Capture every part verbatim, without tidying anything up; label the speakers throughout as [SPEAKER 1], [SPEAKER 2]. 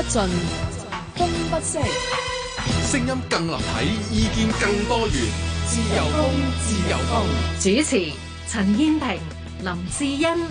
[SPEAKER 1] 盡，風不息，
[SPEAKER 2] 聲音更立體，意見更多元。自由風，自由風。
[SPEAKER 3] 主持：陳燕萍、林志欣。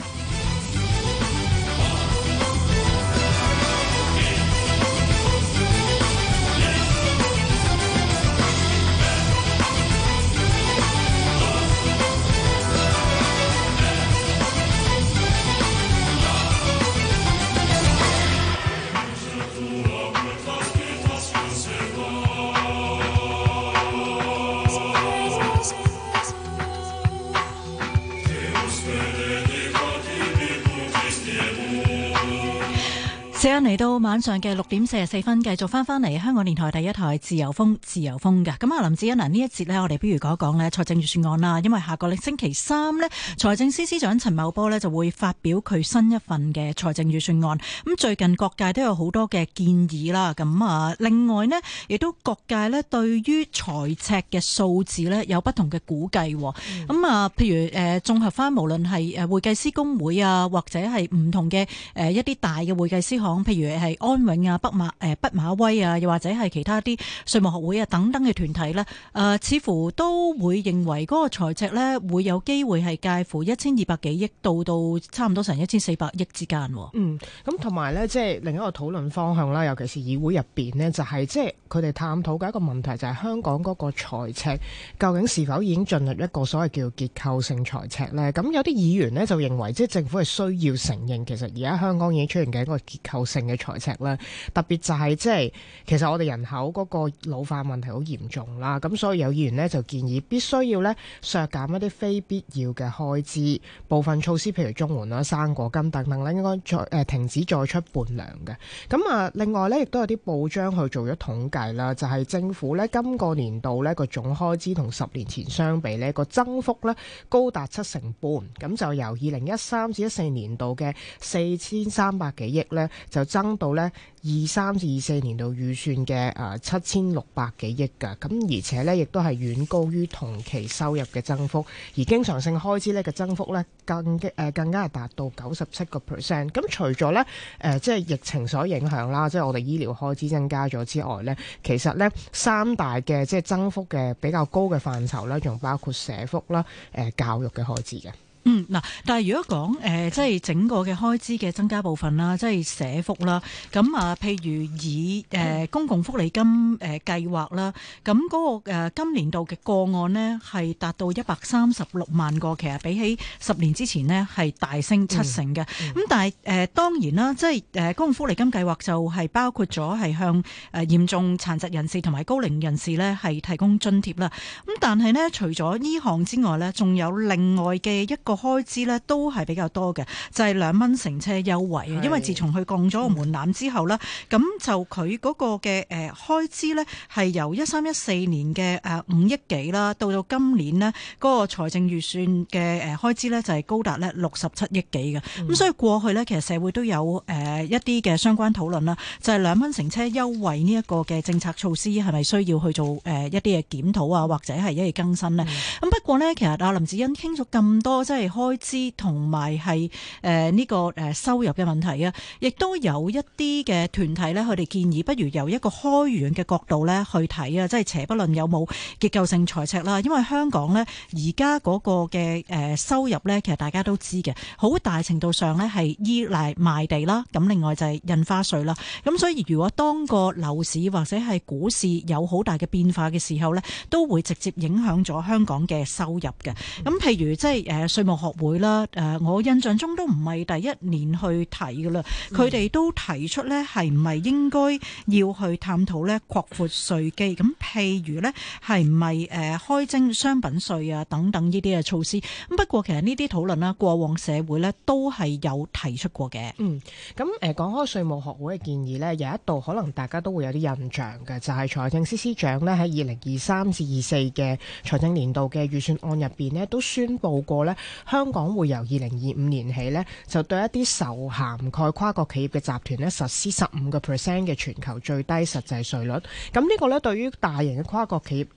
[SPEAKER 4] 時間嚟到晚上嘅六點四十四分，繼續翻翻嚟香港電台第一台自由風，自由風嘅。咁啊，林志欣嗱，呢一節呢，我哋不如講一講呢財政預算案啦。因為下個星期三呢，財政司司長陳茂波呢就會發表佢新一份嘅財政預算案。咁最近各界都有好多嘅建議啦。咁啊，另外呢，亦都各界呢對於財赤嘅數字呢有不同嘅估計。咁、嗯、啊，譬如誒綜合翻，無論係誒會計師公會啊，或者係唔同嘅誒一啲大嘅會計師行。譬如係安永啊、北馬誒畢馬威啊，又或者係其他啲稅務學會啊等等嘅團體呢，誒、呃、似乎都會認為嗰個財赤呢會有機會係介乎一千二百幾億到到差唔多成一千四百億之間。
[SPEAKER 5] 嗯，咁同埋呢，即係另一個討論方向啦，尤其是議會入邊呢，就係即係佢哋探討嘅一個問題，就係香港嗰個財赤究竟是否已經進入一個所謂叫結構性財赤呢？咁有啲議員呢，就認為，即係政府係需要承認，其實而家香港已經出現嘅一個結構性嘅財赤啦，特別就係即係其實我哋人口嗰個老化問題好嚴重啦，咁所以有議員呢就建議必須要呢削減一啲非必要嘅開支，部分措施譬如綜援啦、生果金等等咧，應該再誒、呃、停止再出伴糧嘅。咁啊，另外呢亦都有啲報章去做咗統計啦，就係、是、政府呢今個年度呢個總開支同十年前相比呢個增幅呢高達七成半，咁就由二零一三至一四年度嘅四千三百幾億呢。就增到咧二三至二四年度預算嘅誒七千六百幾億㗎，咁而且咧亦都係遠高於同期收入嘅增幅，而經常性開支咧嘅增幅咧更嘅誒更加係達到九十七個 percent。咁除咗咧誒即係疫情所影響啦，即係我哋醫療開支增加咗之外咧，其實咧三大嘅即係增幅嘅比較高嘅範疇咧，仲包括社福啦、誒教育嘅開支嘅。
[SPEAKER 4] 嗯，嗱，但係如果講誒、呃，即係整個嘅開支嘅增加部分啦，即係社福啦，咁啊，譬如以誒、呃、公共福利金誒、呃、計劃啦，咁嗰、那個、呃、今年度嘅個案呢係達到一百三十六萬個，其實比起十年之前呢係大升七成嘅。咁、嗯嗯、但係誒、呃、當然啦，即係誒公共福利金計劃就係包括咗係向誒嚴重殘疾人士同埋高齡人士呢係提供津貼啦。咁但係呢，除咗呢項之外呢，仲有另外嘅一個開支咧都係比較多嘅，就係兩蚊乘車優惠啊！因為自從佢降咗個門檻之後咧，咁、嗯、就佢嗰個嘅誒開支咧係由一三一四年嘅誒五億幾啦，到到今年呢嗰個財政預算嘅誒開支咧就係高達咧六十七億幾嘅。咁、嗯、所以過去咧其實社會都有誒一啲嘅相關討論啦，就係兩蚊乘車優惠呢一個嘅政策措施係咪需要去做誒一啲嘅檢討啊，或者係一啲更新呢？咁、嗯、不過呢，其實阿林子欣傾咗咁多，即係。開支同埋係誒呢個誒收入嘅問題啊，亦都有一啲嘅團體咧，佢哋建議不如由一個開源嘅角度咧去睇啊，即係且不論有冇結構性財赤啦，因為香港咧而家嗰個嘅誒收入咧，其實大家都知嘅，好大程度上咧係依賴賣地啦，咁另外就係印花稅啦，咁所以如果當個樓市或者係股市有好大嘅變化嘅時候咧，都會直接影響咗香港嘅收入嘅。咁譬如即係誒稅務學會啦，誒，我印象中都唔係第一年去提噶啦，佢哋都提出咧，係唔係應該要去探討咧擴闊稅基？咁譬如咧，係唔係誒開徵商品稅啊等等呢啲嘅措施？咁不過其實呢啲討論啦，過往社會咧都係有提出過嘅。
[SPEAKER 5] 嗯，咁誒講開稅務學會嘅建議咧，有一度可能大家都會有啲印象嘅，就係財政司司長咧喺二零二三至二四嘅財政年度嘅預算案入邊咧，都宣布過咧。香港會由二零二五年起呢，就對一啲受涵蓋跨國企業嘅集團呢實施十五個 percent 嘅全球最低實際稅率。咁呢個呢，對於大型嘅跨國企業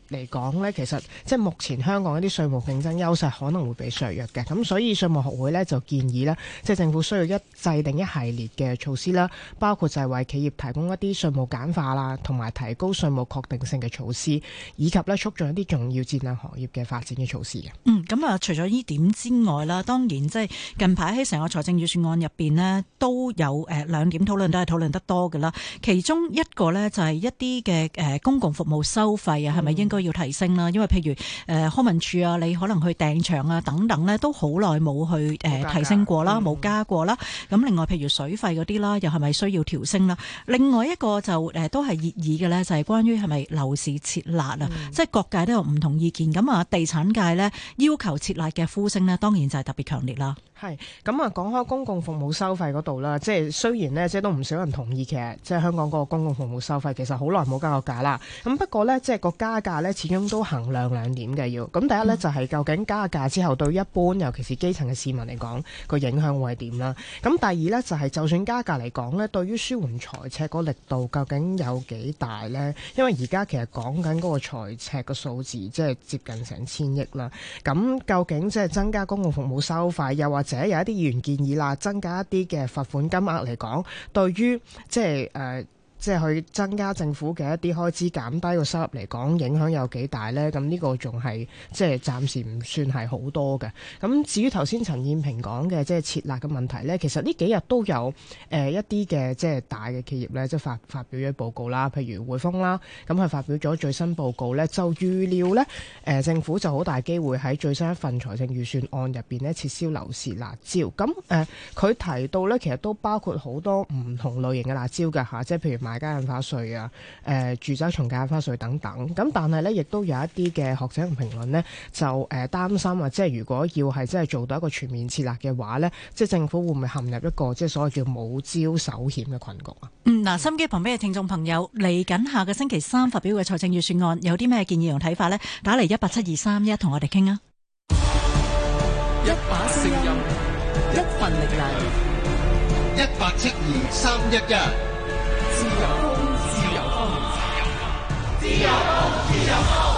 [SPEAKER 5] 嚟講咧，其實即係目前香港一啲稅務競爭優勢可能會被削弱嘅。咁所以稅務學會咧就建議咧，即係政府需要一制定一系列嘅措施啦，包括就係為企業提供一啲稅務簡化啦，同埋提高稅務確定性嘅措施，以及咧促進一啲重要戰略行業嘅發展嘅措施嘅。
[SPEAKER 4] 嗯，咁啊，除咗呢點之外啦，當然即係近排喺成個財政預算案入邊呢，都有誒兩點討論，都係討論得多嘅啦。其中一個呢，就係一啲嘅誒公共服務收費啊，係咪應該要提升啦？因為譬如誒康文署啊，你可能去訂場啊等等呢，都好耐冇去誒提升過啦，冇、嗯、加過啦。咁另外譬如水費嗰啲啦，又係咪需要調升啦？另外一個就誒都係熱議嘅呢，就係關於係咪樓市設立啊？嗯、即係各界都有唔同意見。咁啊，地產界呢，要求設立嘅呼聲呢，當然就係特別強烈啦。
[SPEAKER 5] 係咁啊，講開公共服務收費嗰度啦，即係雖然呢，即係都唔少人同意，其實即係香港嗰個公共服務收費其實好耐冇加過價啦。咁不過呢，即係個加價呢，始終都衡量兩點嘅要。咁第一呢，就係究竟加價之後對一般尤其是基層嘅市民嚟講個影響會係點啦？咁第二呢，就係就算加價嚟講呢，對於舒緩財赤個力度究竟有幾大呢？因為而家其實講緊嗰個財赤嘅數字即係接近成千億啦。咁究竟即係增加公共服務收費，又或者有一啲議員建議啦，增加一啲嘅罰款金額嚟講，對於即係誒。即係去增加政府嘅一啲開支，減低個收入嚟講，影響有幾大呢？咁呢個仲係即係暫時唔算係好多嘅。咁至於頭先陳燕平講嘅即係設立嘅問題呢，其實呢幾日都有誒、呃、一啲嘅即係大嘅企業呢，即係發發表咗報告啦，譬如匯豐啦，咁佢發表咗最新報告呢，就預料呢，誒、呃、政府就好大機會喺最新一份財政預算案入邊呢撤銷樓市辣招。咁誒佢提到呢，其實都包括好多唔同類型嘅辣招㗎嚇，即係譬如買家印花稅啊、誒、呃、住宅重價印花稅等等，咁但係咧，亦都有一啲嘅學者同評論呢，就誒擔、呃、心啊，即係如果要係真係做到一個全面設立嘅話呢，即係政府會唔會陷入一個即係所謂叫冇招手險嘅困局啊？嗯，嗱，心機旁邊嘅聽眾朋友，嚟緊下個星期三發表嘅財政預算案有啲咩建議同睇法呢？打嚟一八七二三一同我哋傾啊！
[SPEAKER 2] 一把聲音，
[SPEAKER 1] 一份力量，
[SPEAKER 6] 一八七二三一一。
[SPEAKER 2] 自由風，自由風，
[SPEAKER 1] 自由風，自由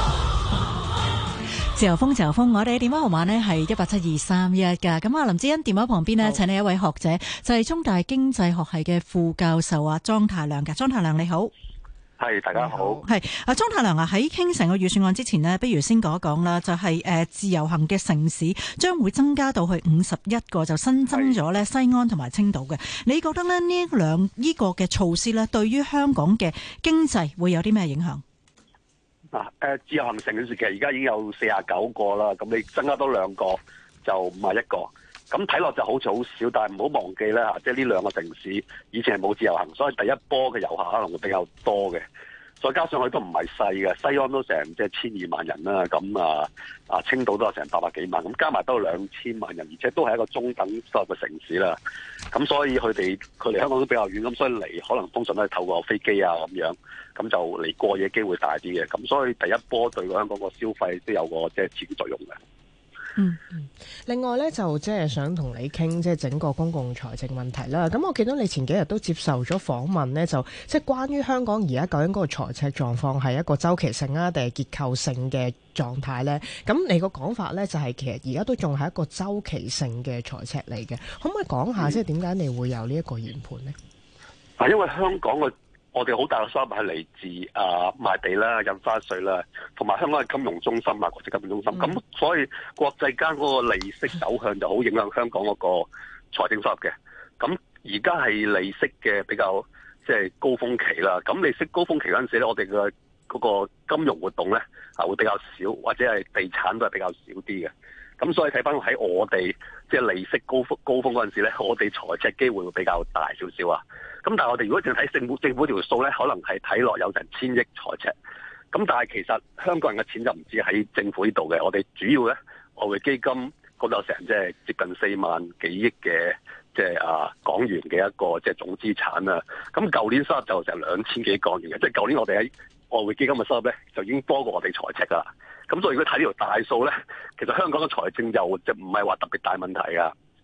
[SPEAKER 1] 風，
[SPEAKER 4] 自由風，自由風。我哋嘅電話號碼呢係一八七二三一噶。咁啊，林志欣電話旁邊呢，請你一位學者，就係、是、中大經濟學系嘅副教授啊，莊太量嘅。莊太量你好。
[SPEAKER 7] 係，大家好。
[SPEAKER 4] 係啊，莊太量啊，喺傾成個預算案之前呢，不如先講一講啦。就係、是、誒自由行嘅城市將會增加到去五十一個，就新增咗咧西安同埋青島嘅。你覺得咧呢兩呢個嘅措施咧，對於香港嘅經濟會有啲咩影響？
[SPEAKER 7] 嗱，誒自由行城市其實而家已經有四十九個啦，咁你增加多兩個就五十一個。咁睇落就好似好少，但係唔好忘記咧嚇，即係呢兩個城市以前係冇自由行，所以第一波嘅遊客可能會比較多嘅。再加上佢都唔係細嘅，西安都成即係千二萬人啦，咁啊啊青島都有成八百幾萬，咁加埋都有兩千萬人，而且都係一個中等收入嘅城市啦。咁所以佢哋佢離香港都比較遠，咁所以嚟可能通常都係透過飛機啊咁樣，咁就嚟過夜機會大啲嘅。咁所以第一波對香港個消費都有個即係刺激作用嘅。
[SPEAKER 5] 嗯嗯，另外咧就即係想同你傾即係整個公共財政問題啦。咁我見到你前幾日都接受咗訪問呢，就即係關於香港而家究竟嗰個財赤狀況係一個周期性啊，定係結構性嘅狀態呢？咁你個講法呢，就係其實而家都仲係一個周期性嘅財赤嚟嘅。可唔可以講下即係點解你會有呢一個研判呢？
[SPEAKER 7] 啊、嗯，因為香港嘅我哋好大嘅收入係嚟自啊賣地啦、印花稅啦，同埋香港係金融中心啊、國際金融中心。咁、嗯、所以國際間嗰個利息走向就好影響香港嗰個財政收入嘅。咁而家係利息嘅比較即係、就是、高峰期啦。咁利息高峰期嗰陣時咧，我哋嘅嗰個金融活動咧啊會比較少，或者係地產都係比較少啲嘅。咁所以睇翻喺我哋即係利息高峰高峰嗰陣時咧，我哋財赤機會會比較大少少啊。咁但係我哋如果淨係睇政府政府條數咧，可能係睇落有成千億財赤。咁但係其實香港人嘅錢就唔止喺政府呢度嘅，我哋主要咧外匯基金嗰度有成即係接近四萬幾億嘅即係啊港元嘅一個即係總資產啦。咁舊年收入就成兩千幾港元嘅，即係舊年我哋喺外匯基金嘅收入咧就已經多過我哋財赤噶啦。咁所以如果睇呢條大數咧，其實香港嘅財政就就唔係話特別大問題噶。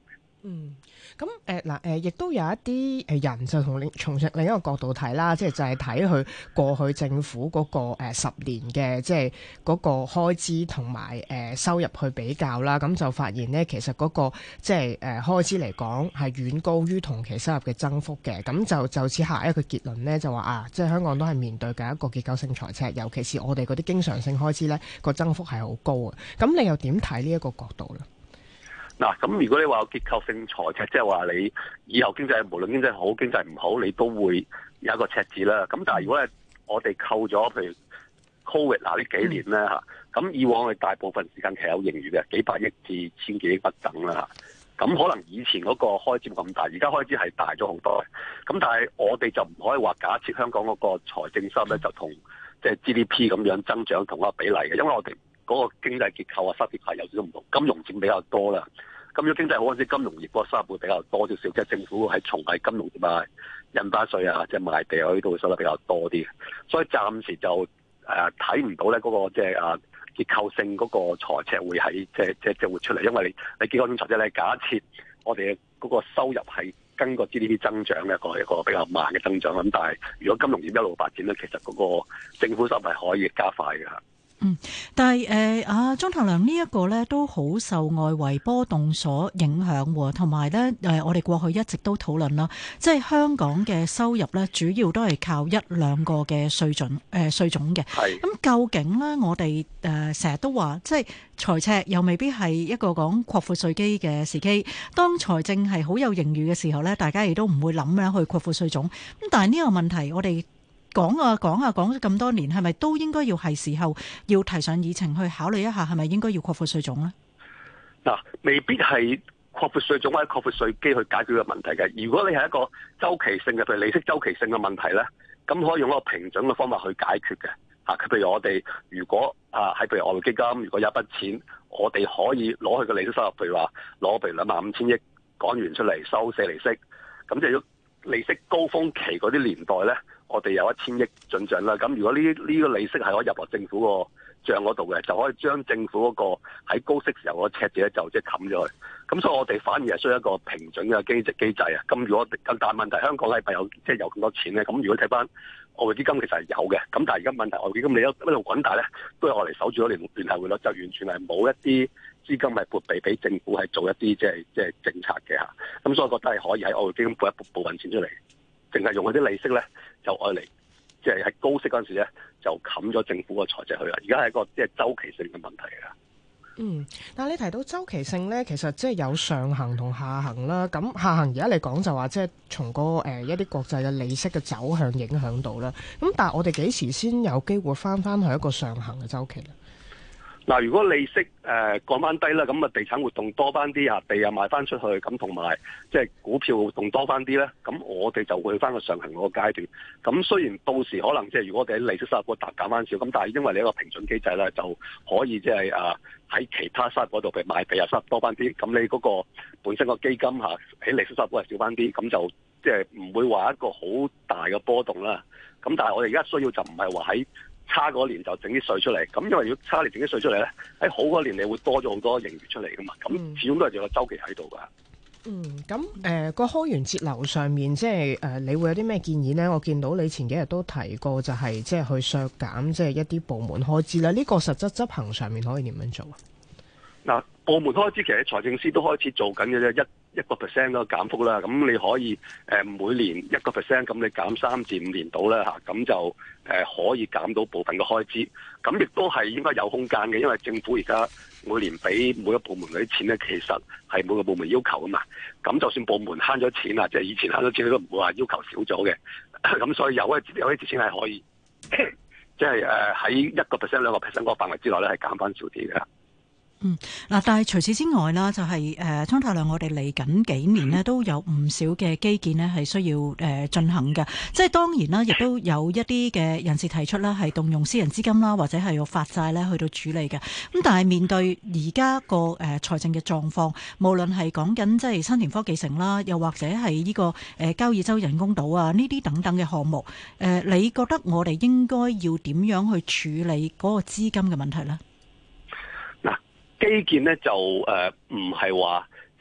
[SPEAKER 5] 嗯，咁誒嗱誒，亦都有一啲誒人就同另從另一個角度睇啦，即係就係睇佢過去政府嗰個誒十年嘅即係嗰個開支同埋誒收入去比較啦，咁就發現咧其實嗰個即係誒開支嚟講係遠高於同期收入嘅增幅嘅，咁就就此下一個結論咧就話啊，即係香港都係面對緊一個結構性財赤，尤其是我哋嗰啲經常性開支咧個增幅係好高啊，咁你又點睇呢一個角度咧？
[SPEAKER 7] 嗱，咁如果你話有結構性財赤，即係話你以後經濟無論經濟好經濟唔好，你都會有一個赤字啦。咁但係如果係我哋扣咗譬如 Covid 嗱呢幾年咧嚇，咁、嗯、以往我哋大部分時間其實有盈餘嘅，幾百億至千幾億不等啦嚇。咁可能以前嗰個開支冇咁大，而家開支係大咗好多嘅。咁但係我哋就唔可以話假設香港嗰個財政收入咧就同即係 G D P 咁樣增長同一個比例嘅，因為我哋嗰個經濟結構啊、收入係有少少唔同，金融佔比較多啦。咁如果經濟好嗰陣，金融業嗰個收入會比較多少少，即係政府係從係金融業啊、印花稅啊、即係賣地啊呢度會收得比較多啲。所以暫時就誒睇唔到咧嗰個即係啊結構性嗰個財赤會喺即係即係即係會出嚟，因為你你結構性財赤咧，假設我哋嗰個收入係跟個 G D P 增長嘅一個一個比較慢嘅增長，咁但係如果金融業一路發展咧，其實嗰個政府收入係可以加快嘅。
[SPEAKER 4] 嗯，但係誒啊，莊太量呢一個咧都好受外圍波動所影響，同埋咧誒，我哋過去一直都討論啦，即係香港嘅收入咧，主要都係靠一兩個嘅稅準誒稅種嘅。係咁，究竟咧我哋誒成日都話，即係財赤又未必係一個講擴闊稅基嘅時機。當財政係好有盈餘嘅時候咧，大家亦都唔會諗咧去擴闊稅種。咁但係呢個問題，我哋講啊講啊講咗咁多年，係咪都應該要係時候要提上議程去考慮一下，係咪應該要擴闊稅種咧？
[SPEAKER 7] 嗱，未必係擴闊稅種或者擴闊稅基去解決個問題嘅。如果你係一個周期性嘅，譬如利息周期性嘅問題咧，咁可以用一個平準嘅方法去解決嘅。嚇，譬如我哋如果啊喺譬如外匯基金，如果有一筆錢，我哋可以攞去個利息收入，譬如話攞譬如兩萬五千億港元出嚟收四厘息，咁即係利息高峰期嗰啲年代咧，我哋有一千億進帳啦。咁如果呢呢個利息係可以入落政府個帳嗰度嘅，就可以將政府嗰個喺高息時候個赤字咧就即係冚咗佢。咁所以我哋反而係需要一個平準嘅經濟機制啊。咁如果咁大問題，香港係咪有即係有咁多錢咧？咁如果睇翻外匯基金其實係有嘅。咁但係而家問題外匯基金你一一路滾大咧，都係我哋守住咗聯聯繫匯率，就完全係冇一啲資金係撥備俾政府係做一啲即係即係政策嘅嚇。咁所以我覺得係可以喺外匯基金撥一部分錢出嚟，淨係用嗰啲利息咧就愛嚟即係喺高息嗰陣時咧就冚咗政府個財政去啦。而家係一個即係周期性嘅問題啊。
[SPEAKER 5] 嗯，但係你提到周期性咧，其實即係有上行同下行啦。咁下行而家嚟講就話即係從個誒一啲國際嘅利息嘅走向影響到啦。咁但係我哋幾時先有機會翻翻去一個上行嘅周期咧？
[SPEAKER 7] 嗱，如果利息誒、呃、降翻低啦，咁啊地產活動多翻啲啊，地又賣翻出去，咁同埋即係股票活動多翻啲咧，咁我哋就會去翻個上行嗰個階段。咁雖然到時可能即係如果我哋喺利息收入嗰度減翻少，咁但係因為你一個平準機制咧，就可以即係啊喺其他收入嗰度譬如賣地又收入多翻啲，咁你嗰個本身個基金嚇喺利息收入嗰度少翻啲，咁就即係唔會話一個好大嘅波動啦。咁但係我哋而家需要就唔係話喺差嗰年就整啲稅出嚟，咁因為如果差年整啲稅出嚟咧，喺好嗰年你會多咗好多盈餘出嚟噶嘛，咁始終都係有個週期喺度噶。
[SPEAKER 5] 嗯，咁誒個開源節流上面，即係誒、呃、你會有啲咩建議呢？我見到你前幾日都提過，就係即係去削減即係一啲部門開支啦。呢、這個實質執行上面可以點樣做啊？
[SPEAKER 7] 嗱，部門開支其實財政司都開始做緊嘅啫，一一個 percent 嗰個減幅啦。咁你可以誒每年一個 percent，咁你減三至五年到啦嚇，咁就誒可以減到部分嘅開支。咁亦都係應該有空間嘅，因為政府而家每年俾每個部門嗰啲錢咧，其實係每個部門要求啊嘛。咁就算部門慳咗錢啊，即係以前慳咗錢，你都唔會話要求少咗嘅。咁所以有一有一啲錢係可以，即係誒喺一個 percent 兩個 percent 嗰個範圍之內咧，係減翻少啲嘅。
[SPEAKER 4] 嗯，嗱，但係除此之外啦，就係誒莊太量，我哋嚟緊幾年呢都有唔少嘅基建呢係需要誒進行嘅，即係當然啦，亦都有一啲嘅人士提出啦，係動用私人資金啦，或者係用發債咧去到處理嘅。咁但係面對而家個誒財政嘅狀況，無論係講緊即係新田科技城啦，又或者係呢個誒交椅洲人工島啊，呢啲等等嘅項目，誒，你覺得我哋應該要點樣去處理嗰個資金嘅問題呢？
[SPEAKER 7] 基建咧就誒唔係話即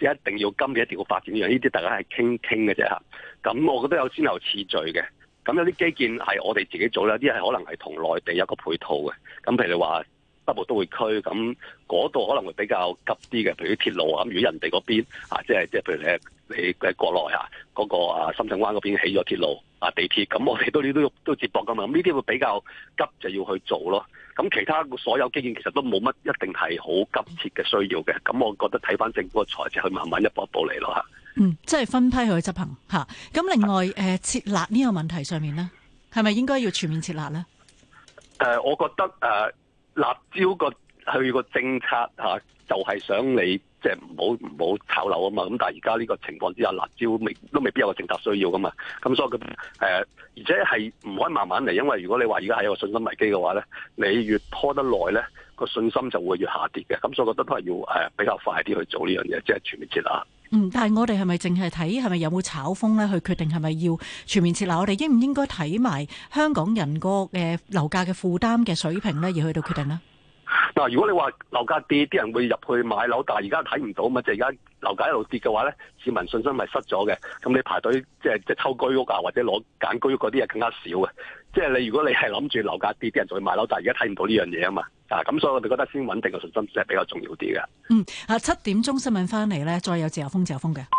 [SPEAKER 7] 一定要今年一定要發展呢樣，呢啲大家係傾傾嘅啫嚇。咁我覺得有先後次序嘅。咁有啲基建係我哋自己做啦，啲係可能係同內地有個配套嘅。咁譬如話北部都會區，咁嗰度可能會比較急啲嘅，譬如啲鐵路啊。咁如果人哋嗰邊啊，即係即係譬如你你喺國內啊嗰個啊深圳灣嗰邊起咗鐵路啊地鐵，咁我哋都都都接駁噶嘛。咁呢啲會比較急就要去做咯。咁其他所有基建其實都冇乜一定係好急切嘅需要嘅。咁我覺得睇翻政府嘅財政去慢慢一步一步嚟咯嚇。
[SPEAKER 4] 嗯，即係分批去執行嚇。咁另外誒、呃、設立呢個問題上面咧，係咪應該要全面設立咧？
[SPEAKER 7] 誒、呃，我覺得誒、呃、辣招個去個政策嚇、啊，就係、是、想你即係唔好唔好炒樓啊嘛。咁但係而家呢個情況之下，辣招未都未必有個政策需要噶嘛。咁所以佢誒、呃，而且係唔可以慢慢嚟，因為如果你話而家係有個信心危機嘅話咧，你越拖得耐咧，個信心就會越下跌嘅。咁所以我覺得都係要誒、呃、比較快啲去做呢樣嘢，即係全面設立。
[SPEAKER 4] 嗯，但係我哋係咪淨係睇係咪有冇炒風咧，去決定係咪要全面設立？我哋應唔應該睇埋香港人個誒樓價嘅負擔嘅水平咧，而去到決定呢？
[SPEAKER 7] 嗱，如果你話樓價跌，啲人會入去買樓，但係而家睇唔到嘛，即係而家樓價一路跌嘅話咧，市民信心咪失咗嘅。咁你排隊即係即係抽居屋啊，或者攞揀居屋嗰啲嘢更加少嘅。即係你如果你係諗住樓價跌，啲人就去買樓，但係而家睇唔到呢樣嘢啊嘛。啊，咁所以我哋覺得先穩定嘅信心係比較重要啲嘅。
[SPEAKER 4] 嗯，啊七點鐘新聞翻嚟咧，再有自由風自由風嘅。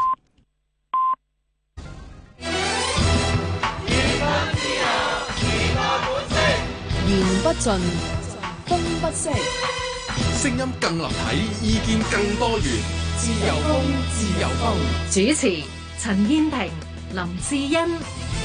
[SPEAKER 1] 言不盡，風不息，
[SPEAKER 2] 聲音更立體，意見更多元，自由風，自由風。
[SPEAKER 3] 主持陳燕萍、林志欣。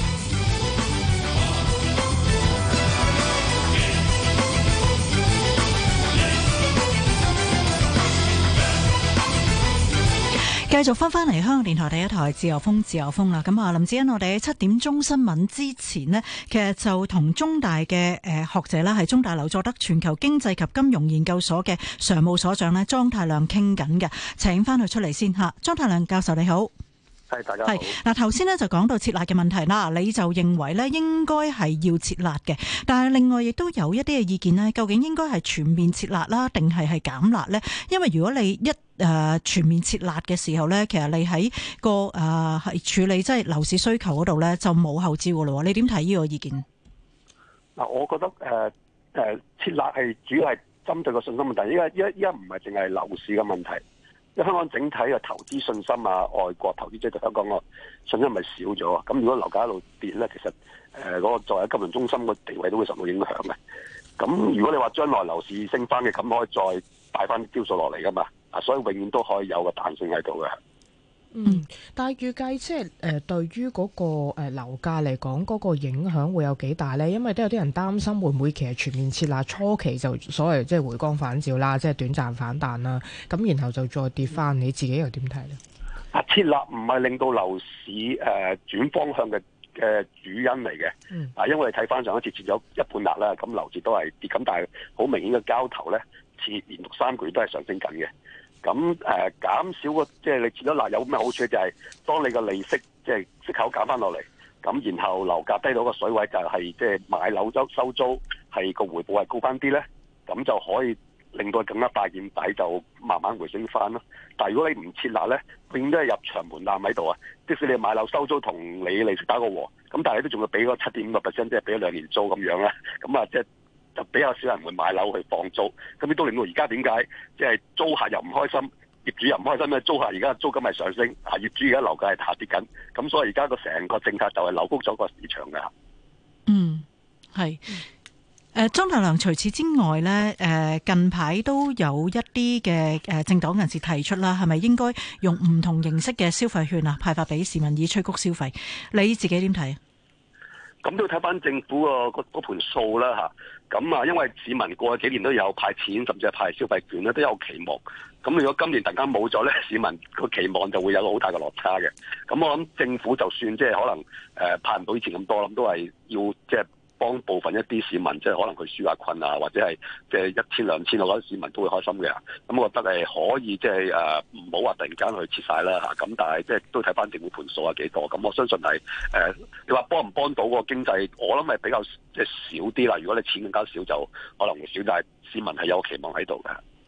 [SPEAKER 4] 繼續翻翻嚟香港電台第一台自由風自由風啦，咁啊林志欣，我哋喺七點鐘新聞之前呢，其實就同中大嘅誒學者啦，係中大劉佐德全球經濟及金融研究所嘅常務所長呢，莊太量傾緊嘅，請翻佢出嚟先吓。莊太量教授你好。
[SPEAKER 7] 係，大家好。
[SPEAKER 4] 嗱，頭先咧就講到設立嘅問題啦，你就認為咧應該係要設立嘅，但係另外亦都有一啲嘅意見咧，究竟應該係全面設立啦，定係係減辣咧？因為如果你一誒、呃、全面設立嘅時候咧，其實你喺個誒係、呃、處理即係樓市需求嗰度咧就冇後招噶咯。你點睇呢個意見？
[SPEAKER 7] 嗱，我覺得誒誒、呃呃、設立係主要係針對個信心問題。依家依家依家唔係淨係樓市嘅問題。因為香港整體嘅投資信心啊，外國投資者對香港個信心咪少咗啊？咁如果樓價一路跌咧，其實誒嗰、呃那個作為金融中心個地位都會受到影響嘅。咁如果你話將來樓市升翻嘅，咁可以再帶翻啲招數落嚟噶嘛？啊，所以永遠都可以有個彈性喺度嘅。
[SPEAKER 5] 嗯，但係預計即係誒對於嗰個誒樓價嚟講，嗰個影響會有幾大咧？因為都有啲人擔心會唔會其實全面設立初期就所謂即係回光返照啦，即係短暫反彈啦，咁然後就再跌翻，你自己又點睇咧？
[SPEAKER 7] 啊，設立唔係令到樓市誒轉方向嘅嘅主因嚟嘅。嗯。啊，因為你睇翻上一次設咗一半辣啦，咁樓市都係跌，咁但係好明顯嘅交投咧，設連續三個月都係上升緊嘅。咁誒、呃、減少個即係你設咗辣有咩好處？就係當你個利息即係息口減翻落嚟，咁然後樓價低到個水位就係即係買樓收收租係個回報係高翻啲咧，咁就可以令到更加大件底就慢慢回升翻咯。但係如果你唔設辣咧，永遠都係入場門檻喺度啊！即使你買樓收租同你利息打個和，咁但係你都仲要俾嗰七點五個 percent， 即係俾咗兩年租咁樣啦。咁啊即係。就比較少人會買樓去放租，咁亦都令到而家點解即係租客又唔開心，業主又唔開心咧？租客而家租金係上升，啊業主而家樓價係下跌緊，咁所以而家個成個政策就係扭曲咗個市場嘅。嗯，
[SPEAKER 4] 係。誒莊太量，除此之外咧，誒近排都有一啲嘅誒政黨人士提出啦，係咪應該用唔同形式嘅消費券啊，派發俾市民以催谷消費？你自己點睇啊？
[SPEAKER 7] 咁都要睇翻政府個嗰盤數啦嚇，咁啊，因為市民過去幾年都有派錢，甚至係派消費券咧，都有期望。咁如果今年突然間冇咗咧，市民個期望就會有個好大嘅落差嘅。咁我諗政府就算即係可能誒、呃、派唔到以前咁多，咁都係要即係幫部分一啲市民，即係可能佢紓下困啊，或者係即係一千兩千，我覺得市民都會開心嘅。咁我覺得係可以即係誒唔好話突然間去切晒啦嚇。咁但係即係都睇翻政府盤數係幾多。咁我相信係誒、呃、你話幫唔幫到個經濟，我諗係比較即係少啲啦。如果你錢更加少就可能會少，但係市民係有期望喺度嘅。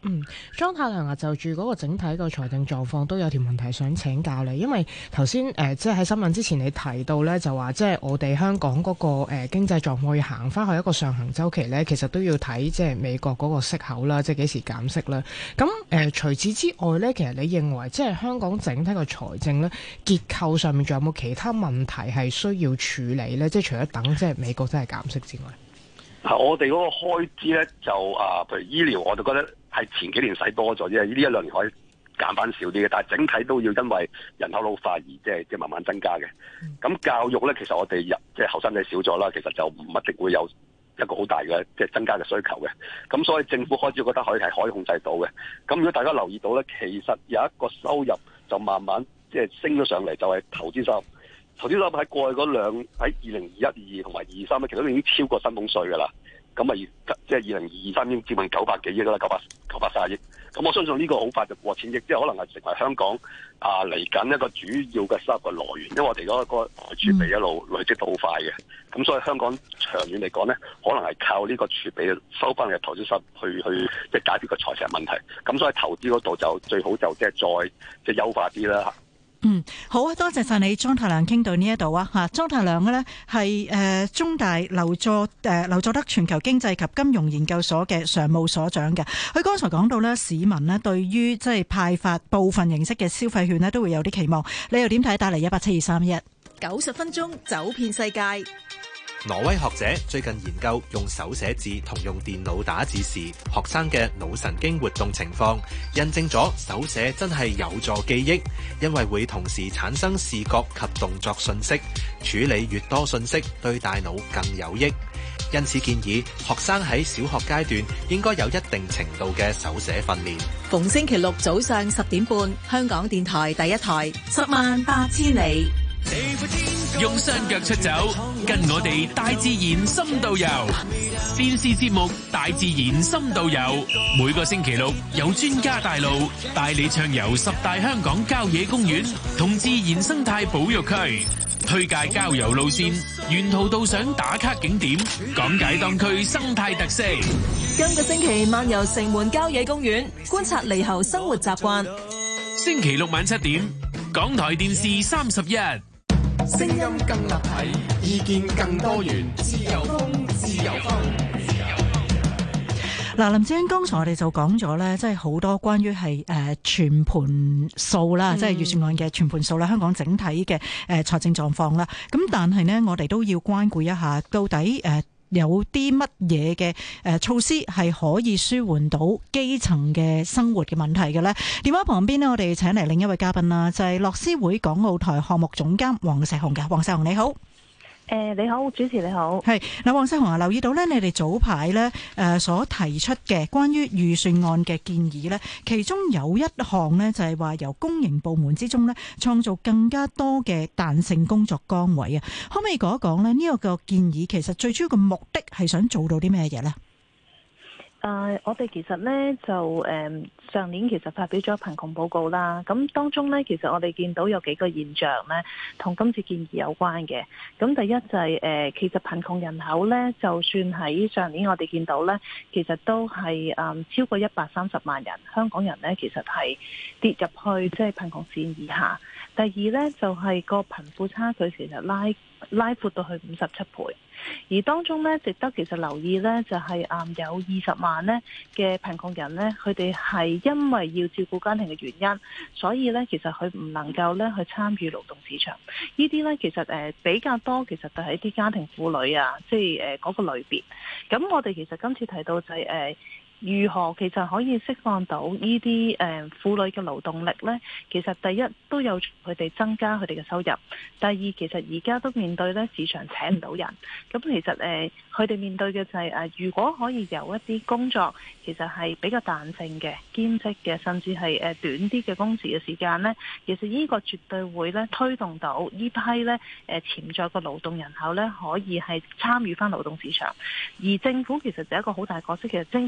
[SPEAKER 5] 嗯，莊太量啊，就住嗰個整體個財政狀況都有條問題想請教你，因為頭先誒即係喺新聞之前你提到咧，就話即係我哋香港嗰、那個誒、呃、經濟狀況要行翻去一個上行週期咧，其實都要睇即係美國嗰個息口啦，即係幾時減息啦。咁誒、呃、除此之外咧，其實你認為即係香港整體個財政咧結構上面仲有冇其他問題係需要處理咧？即係除咗等即係美國真係減息之外。
[SPEAKER 7] 我哋嗰個開支咧就啊，譬如醫療，我就覺得係前幾年使多咗啫，呢一兩年可以減翻少啲嘅，但係整體都要因為人口老化而即係即係慢慢增加嘅。咁、嗯、教育咧，其實我哋入即係後生仔少咗啦，其實就唔一定會有一個好大嘅即係增加嘅需求嘅。咁所以政府開支覺得可以係可以控制到嘅。咁如果大家留意到咧，其實有一個收入就慢慢即係升咗上嚟，就係、是、投資收入。投資收入喺過去嗰兩喺二零二一、二同埋二三咧，其實都已經超過薪俸稅㗎啦。咁啊，即係二零二三已經接近九百幾億啦，九百九百三十億。咁我相信呢個好快就過千億，即係可能係成為香港啊嚟緊一個主要嘅收入嘅來源。因為我哋嗰個儲備一路累積得好快嘅，咁所以香港長遠嚟講咧，可能係靠呢個儲備收翻嘅投資收入去去即係解決個財政問題。咁所以投資嗰度就最好就即係再即係優化啲啦。
[SPEAKER 4] 嗯，好啊，多謝晒你，莊太量傾到呢一度啊吓。莊太量嘅呢係誒中大劉佐誒劉佐德全球經濟及金融研究所嘅常務所長嘅。佢剛才講到呢，市民呢對於即係派發部分形式嘅消費券呢都會有啲期望。你又點睇？打嚟一八七二三一
[SPEAKER 1] 九十分鐘走遍世界。
[SPEAKER 8] 挪威學者最近研究用手寫字同用電腦打字時學生嘅腦神經活動情況，印證咗手寫真係有助記憶，因為會同時產生視覺及動作訊息，處理越多訊息對大腦更有益。因此建議學生喺小學階段應該有一定程度嘅手寫訓練。
[SPEAKER 1] 逢星期六早上十點半，香港電台第一台十萬八千里。
[SPEAKER 9] 用雙腳出走，跟我哋大自然深度遊。電視節目《大自然深度遊》，每個星期六有專家帶路，帶你暢遊十大香港郊野公園同自然生態保育區，推介郊遊路線，沿途到賞打卡景點，講解當區生態特色。
[SPEAKER 1] 今個星期漫遊城門郊野公園，觀察獼猴生活習慣。
[SPEAKER 9] 星期六晚七點，港台電視三十一。
[SPEAKER 2] 聲音更立體，意見更多元，自由風，自由風，自由風。
[SPEAKER 4] 嗱，林志英剛才我哋就講咗咧，即係好多關於係誒全盤數啦，嗯、即係預算案嘅全盤數啦，香港整體嘅誒財政狀況啦。咁但係呢，我哋都要關顧一下，到底誒。呃有啲乜嘢嘅誒措施係可以舒緩到基層嘅生活嘅問題嘅呢？電話旁邊呢，我哋請嚟另一位嘉賓啦，就係樂施會港澳台項目總監黃碩紅嘅。黃碩紅你好。
[SPEAKER 10] 誒，你好，主持你好。
[SPEAKER 4] 係嗱，黃碩紅啊，留意到咧，你哋早排咧誒所提出嘅關於預算案嘅建議咧，其中有一項咧就係話由公營部門之中咧創造更加多嘅彈性工作崗位啊，可唔可以講一講咧呢個個建議其實最主要嘅目的係想做到啲咩嘢咧？
[SPEAKER 10] 誒、uh, 我哋其實咧就誒、嗯、上年其實發表咗貧窮報告啦，咁當中咧其實我哋見到有幾個現象咧，同今次建議有關嘅。咁第一就係、是、誒、呃、其實貧窮人口咧，就算喺上年我哋見到咧，其實都係誒、嗯、超過一百三十萬人香港人咧，其實係跌入去即係貧窮線以下。第二咧就係、是、個貧富差距其實拉拉闊到去五十七倍。而當中咧，值得其實留意咧，就係、是、誒、嗯、有二十萬咧嘅貧窮人咧，佢哋係因為要照顧家庭嘅原因，所以咧其實佢唔能夠咧去參與勞動市場。呢啲咧其實誒、呃、比較多，其實就係啲家庭婦女啊，即係誒嗰個類別。咁我哋其實今次提到就係、是、誒。呃如何其實可以釋放到呢啲誒婦女嘅勞動力呢？其實第一都有佢哋增加佢哋嘅收入，第二其實而家都面對咧市場請唔到人，咁其實誒佢哋面對嘅就係、是、誒如果可以有一啲工作其實係比較彈性嘅兼職嘅，甚至係誒短啲嘅工時嘅時間呢，其實呢個絕對會咧推動到呢批咧誒潛在嘅勞動人口咧可以係參與翻勞動市場，而政府其實就係一個好大角色。其實政府咧其實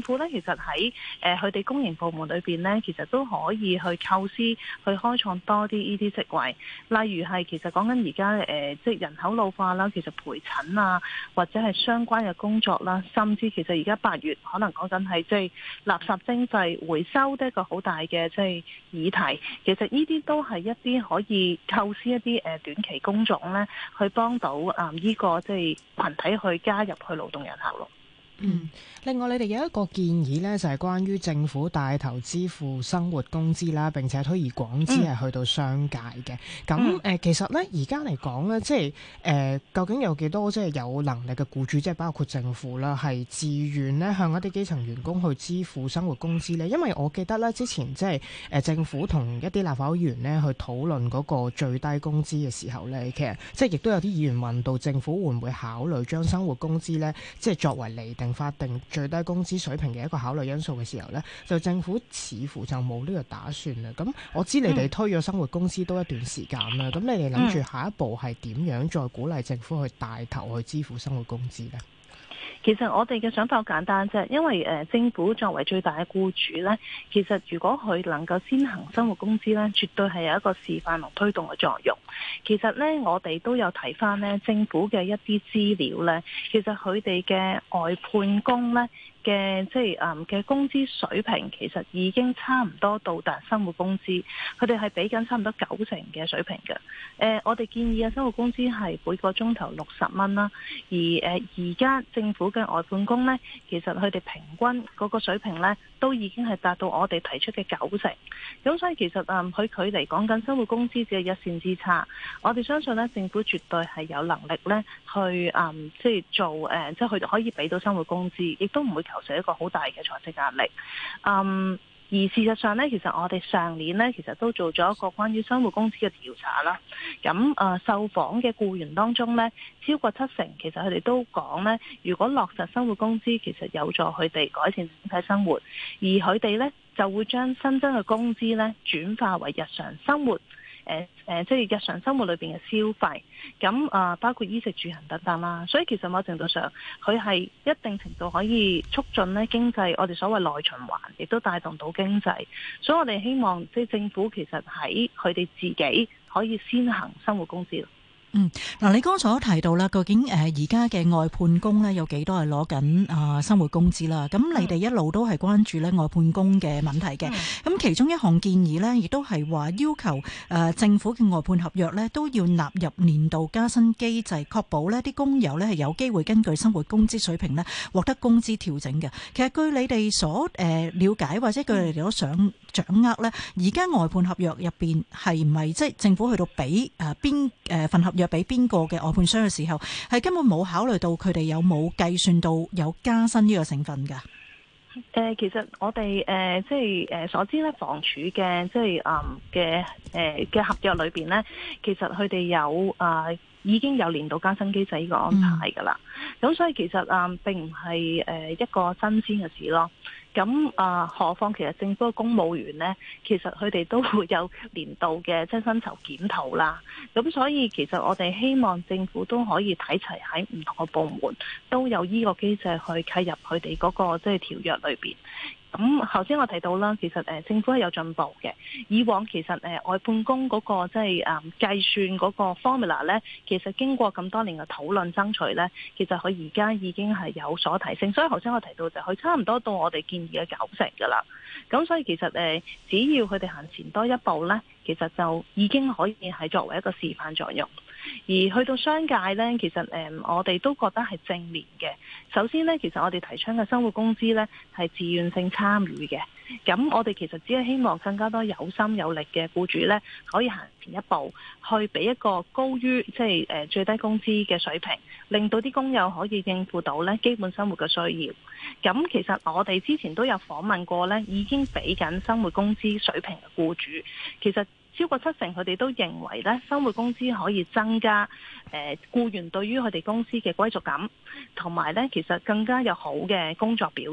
[SPEAKER 10] 實喺誒佢哋公營部門裏邊咧，其實都可以去構思去開創多啲呢啲職位，例如係其實講緊而家誒即係人口老化啦，其實陪診啊或者係相關嘅工作啦，甚至其實而家八月可能講緊係即係垃圾徵費回收都係一個好大嘅即係議題，其實呢啲都係一啲可以構思一啲誒短期工種咧，去幫到啊呢個即係群體去加入去勞動人口咯。
[SPEAKER 5] 嗯，另外你哋有一個建議呢，就係關於政府帶頭支付生活工資啦，並且推而廣之係去到商界嘅。咁誒、呃，其實呢，而家嚟講呢，即係誒、呃，究竟有幾多即係有能力嘅僱主，即係包括政府啦，係自願呢向一啲基層員工去支付生活工資呢？因為我記得呢，之前即係誒政府同一啲立法會議員呢去討論嗰個最低工資嘅時候呢，其實即係亦都有啲議員問到政府會唔會考慮將生活工資呢，即係作為釐定法定最低工資水平嘅一個考慮因素嘅時候呢，就政府似乎就冇呢個打算啦。咁我知你哋推咗生活工資都一段時間啦，咁、嗯、你哋諗住下一步係點樣再鼓勵政府去帶頭去支付生活工資呢？
[SPEAKER 10] 其實我哋嘅想法好簡單啫，因為誒政府作為最大嘅僱主呢，其實如果佢能夠先行生活工資呢，絕對係有一個示範同推動嘅作用。其實呢，我哋都有睇翻呢政府嘅一啲資料呢，其實佢哋嘅外判工呢嘅即係誒嘅工資水平，其實已經差唔多到達生活工資，佢哋係俾緊差唔多九成嘅水平嘅。誒、呃，我哋建議嘅生活工資係每個鐘頭六十蚊啦，而誒而家政府嘅外判工呢，其實佢哋平均嗰個水平呢，都已經係達到我哋提出嘅九成。咁所以其實誒佢距離講緊生活工資只係一線之差。我哋相信呢，政府絕對係有能力呢去誒即係做誒，即係佢哋可以俾到生活工資，亦都唔會構成一個好大嘅財政壓力。嗯，而事實上呢，其實我哋上年呢，其實都做咗一個關於生活工資嘅調查啦。咁誒、呃，受訪嘅僱員當中呢，超過七成其實佢哋都講呢，如果落實生活工資，其實有助佢哋改善整體生活，而佢哋呢，就會將新增嘅工資呢轉化為日常生活。誒誒、呃，即係日常生活裏邊嘅消費，咁啊、呃，包括衣食住行等等啦。所以其實某程度上，佢係一定程度可以促進咧經濟，我哋所謂內循環，亦都帶動到經濟。所以我哋希望即係政府其實喺佢哋自己可以先行生活工資。
[SPEAKER 4] 嗯，嗱，你剛才都提到啦，究竟誒而家嘅外判工咧有幾多係攞緊啊生活工資啦？咁你哋一路都係關注咧外判工嘅問題嘅。咁、嗯、其中一項建議咧，亦都係話要求誒、呃、政府嘅外判合約咧都要納入年度加薪機制，確保呢啲工友咧係有機會根據生活工資水平咧獲得工資調整嘅。其實據你哋所誒了解或者據你哋所想掌握咧，而家外判合約入邊係唔係即係政府去到俾誒邊誒份合約俾邊個嘅外判商嘅時候，係根本冇考慮到佢哋有冇計算到有加薪呢個成分㗎？誒、
[SPEAKER 10] 呃，其實我哋誒、呃、即係誒、呃、所知咧，房署嘅即係誒嘅誒嘅合約裏邊咧，其實佢哋有誒、呃、已經有年度加薪機制呢個安排㗎啦。咁、嗯、所以其實誒、呃、並唔係誒一個新鮮嘅事咯。咁啊，何況其實政府嘅公務員呢，其實佢哋都會有年度嘅即係薪酬檢討啦。咁所以其實我哋希望政府都可以睇齊喺唔同嘅部門都有呢個機制去契入佢哋嗰個即係條約裏邊。咁頭先我提到啦，其實誒政府係有進步嘅。以往其實誒外判工嗰個即係誒計算嗰個 formula 咧，其實經過咁多年嘅討論爭取咧，其實佢而家已經係有所提升。所以頭先我提到就佢差唔多到我哋建議嘅九成噶啦。咁所以其實誒只要佢哋行前多一步咧，其實就已經可以係作為一個示範作用。而去到商界呢，其實誒、呃、我哋都覺得係正面嘅。首先呢，其實我哋提倡嘅生活工資呢係自願性參與嘅。咁我哋其實只係希望更加多有心有力嘅僱主呢，可以行前一步，去俾一個高於即係誒最低工資嘅水平，令到啲工友可以應付到呢基本生活嘅需要。咁其實我哋之前都有訪問過呢，已經俾緊生活工資水平嘅僱主，其實超過七成佢哋都認為咧，生活工資可以增加誒僱員對於佢哋公司嘅歸屬感，同埋咧其實更加有好嘅工作表現。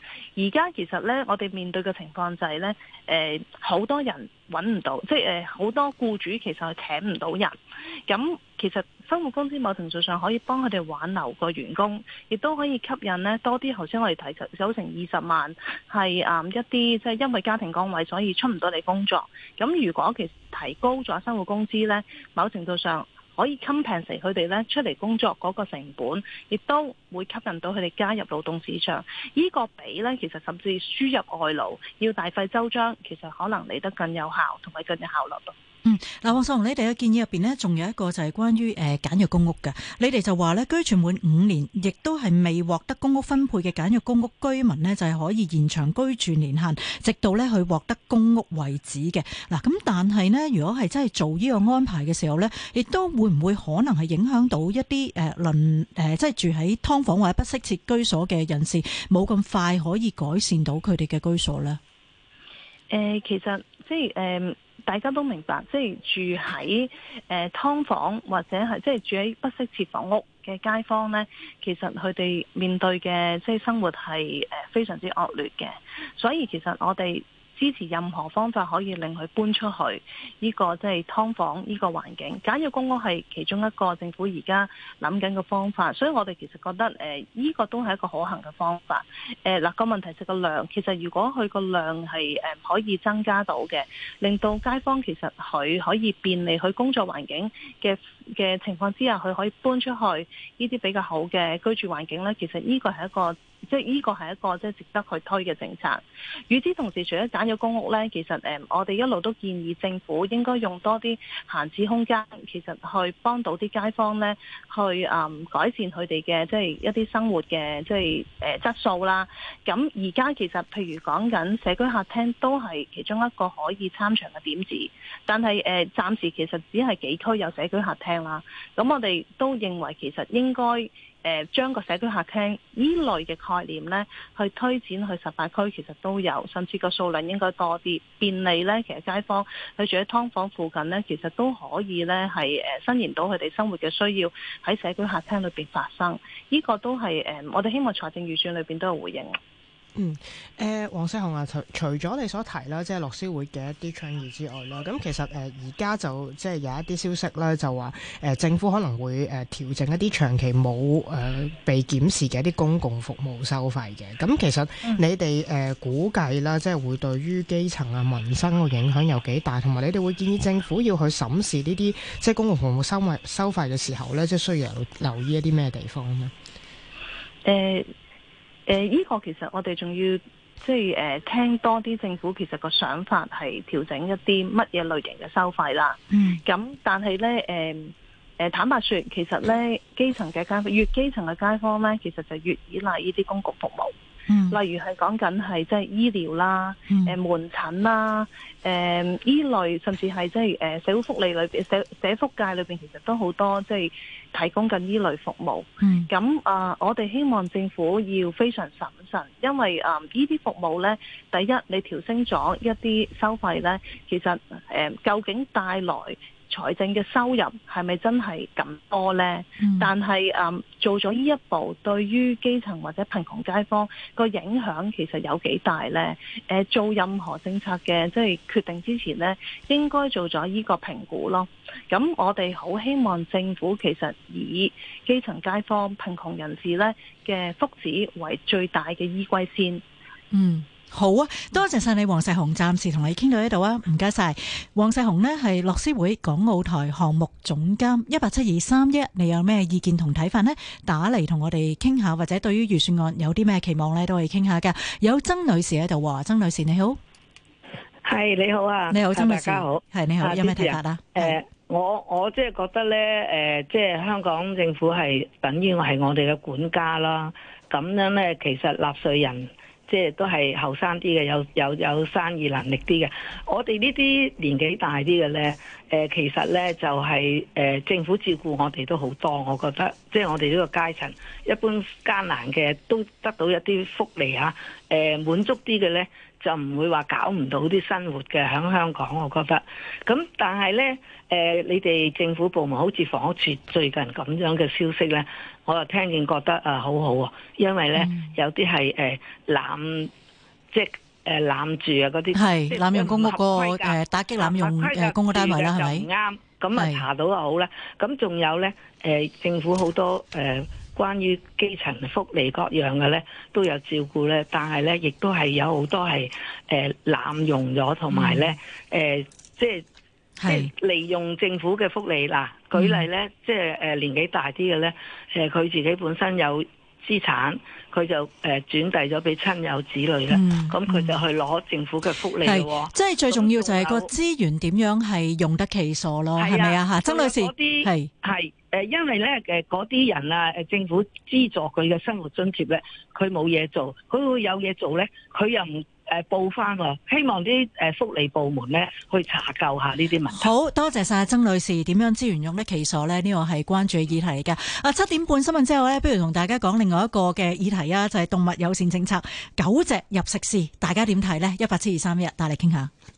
[SPEAKER 10] 而家其實咧，我哋面對嘅情況就係咧，誒、呃、好多人揾唔到，即係誒好多僱主其實係請唔到人。咁其實生活工資某程度上可以幫佢哋挽留個員工，亦都可以吸引咧多啲。頭先我哋提及有成二十萬係誒一啲即係因為家庭崗位所以出唔到嚟工作。咁如果其實提高咗生活工資咧，某程度上可以 compensate 佢哋咧出嚟工作嗰個成本，亦都會吸引到佢哋加入勞動市場。呢個比咧，其實甚至輸入外勞要大費周章，其實可能嚟得更有效同埋更有效率咯。
[SPEAKER 4] 嗯，嗱，黃碩紅，你哋嘅建議入邊呢，仲有一個就係關於誒簡約公屋嘅。你哋就話咧，居住滿五年，亦都係未獲得公屋分配嘅簡約公屋居民呢，就係可以延長居住年限，直到咧去獲得公屋為止嘅。嗱，咁但係呢，如果係真係做呢個安排嘅時候呢，亦都會唔會可能係影響到一啲誒鄰誒，即係住喺劏房或者不適切居所嘅人士，冇咁快可以改善到佢哋嘅居所呢？
[SPEAKER 10] 誒、呃，其實即係誒。呃大家都明白，即係住喺誒劏房或者係即係住喺不適切房屋嘅街坊呢，其實佢哋面對嘅即係生活係誒非常之惡劣嘅，所以其實我哋支持任何方法可以令佢搬出去呢個即係劏房呢個環境。簡約公屋係其中一個政府而家諗緊嘅方法，所以我哋其實覺得誒呢個都係一個可行嘅方法。誒嗱個問題係個量，其實如果佢個量係誒可以增加到嘅，令到街坊其實佢可以便利佢工作環境嘅嘅情況之下，佢可以搬出去呢啲比較好嘅居住環境咧，其實呢個係一個。即係呢個係一個即係值得去推嘅政策。與此同時，除咗簡約公屋呢，其實誒我哋一路都建議政府應該用多啲閒置空間，其實去幫到啲街坊呢，去誒改善佢哋嘅即係一啲生活嘅即係誒質素啦。咁而家其實譬如講緊社區客廳都係其中一個可以參詳嘅點子，但係誒暫時其實只係幾區有社區客廳啦。咁我哋都認為其實應該。誒將個社區客廳呢類嘅概念呢，去推展去十八區，其實都有，甚至個數量應該多啲，便利呢，其實街坊佢住喺劏房附近呢，其實都可以呢，係誒伸延到佢哋生活嘅需要喺社區客廳裏邊發生。呢、這個都係誒我哋希望財政預算裏邊都有回應。
[SPEAKER 5] 嗯，誒、呃，黃碩紅啊，除除咗你所提啦，即係樂施會嘅一啲倡議之外啦，咁其實誒而家就即係有一啲消息咧，就話誒、呃、政府可能會誒、呃、調整一啲長期冇誒、呃、被檢視嘅一啲公共服務收費嘅。咁其實你哋誒、呃、估計啦，即係會對於基層啊民生個影響有幾大，同埋你哋會建議政府要去審視呢啲即係公共服務收費收費嘅時候咧，即係需要留意一啲咩地方咧？誒、呃。誒、呃，依、這個其實我哋仲要即係誒聽多啲政府其實個想法係調整一啲乜嘢類型嘅收費啦。嗯，咁但係咧誒誒坦白說，其實咧基層嘅街坊越基層嘅街坊咧，其實就越依賴呢啲公共服務。嗯，例如係講緊係即係醫療啦，誒、嗯呃、門診啦，誒、呃、依類甚至係即係誒社會福利裏邊社社福界裏邊，其實都好多即係提供緊依類服務。嗯，咁啊、呃，我哋希望政府要非常審慎，因為啊依啲服務咧，第一你調升咗一啲收費咧，其實誒、呃、究竟帶來財政嘅收入係咪真係咁多呢？嗯、但係誒、嗯、做咗呢一步，對於基層或者貧窮街坊個影響其實有幾大呢？誒、呃，做任何政策嘅即係決定之前呢，應該做咗呢個評估咯。咁我哋好希望政府其實以基層街坊、貧窮人士呢嘅福祉為最大嘅依歸先。嗯。
[SPEAKER 4] 好啊，多謝晒你黃碩紅，暫時同你傾到呢度啊，唔該晒。黃碩紅呢係樂施會港澳台項目總監，一八七二三一，你有咩意見同睇法呢？打嚟同我哋傾下，或者對於預算案有啲咩期望呢，都可以傾下噶。有曾女士喺度話，曾女士你好，
[SPEAKER 11] 係你好啊，
[SPEAKER 4] 你好曾女士，
[SPEAKER 11] 大家好，
[SPEAKER 4] 係你好，有咩睇法啊？
[SPEAKER 11] 誒、呃，我我即係覺得咧，誒、呃，即係香港政府係等於係我哋嘅管家啦。咁樣咧，其實納稅人。即係都係後生啲嘅，有有有生意能力啲嘅。我哋呢啲年紀大啲嘅咧， 呃、其實咧就係、是、誒、呃、政府照顧我哋都好多，我覺得即係我哋呢個階層一般艱難嘅都得到一啲福利嚇，誒、呃、滿足啲嘅咧就唔會話搞唔到啲生活嘅喺香港，我覺得。咁但係咧誒，你哋政府部門好似房屋署最近咁樣嘅消息咧，我又聽見覺得啊好好喎，因為咧、嗯、有啲係誒濫即係。誒濫住啊嗰啲，
[SPEAKER 4] 係濫用公屋個誒打擊濫用誒公屋單位啦，係咪？唔啱，咁啊查到就好啦。咁仲有咧誒政府好多誒關於基層福利各樣嘅咧都有照顧咧，但係咧亦都係有好多係誒濫用咗，同埋咧誒即係即係利用政府嘅福利嗱。舉例咧，即係誒年紀大啲嘅咧，誒佢自己本身有資產，佢就誒轉遞咗俾親友子女啦。咁、嗯、佢就去攞政府嘅福利咯。即係最重要就係個資源點樣係用得其所咯，係咪啊？嚇，曾女士，係
[SPEAKER 11] 係誒，因為咧誒嗰啲人啊誒，政府資助佢嘅生活津貼咧，佢冇嘢做，佢會有嘢做咧，佢又唔誒報翻喎。希望啲誒福利部門咧去查究下呢啲問題。
[SPEAKER 4] 好多謝晒曾女士，點樣資源用得其所咧？呢個係關注嘅議題嚟㗎。啊，七點半新聞之後咧，不如同大家講另外一個嘅議題啊，就係動物友善政策，狗隻入食肆，大家點睇呢？一八七二三一，帶嚟傾下。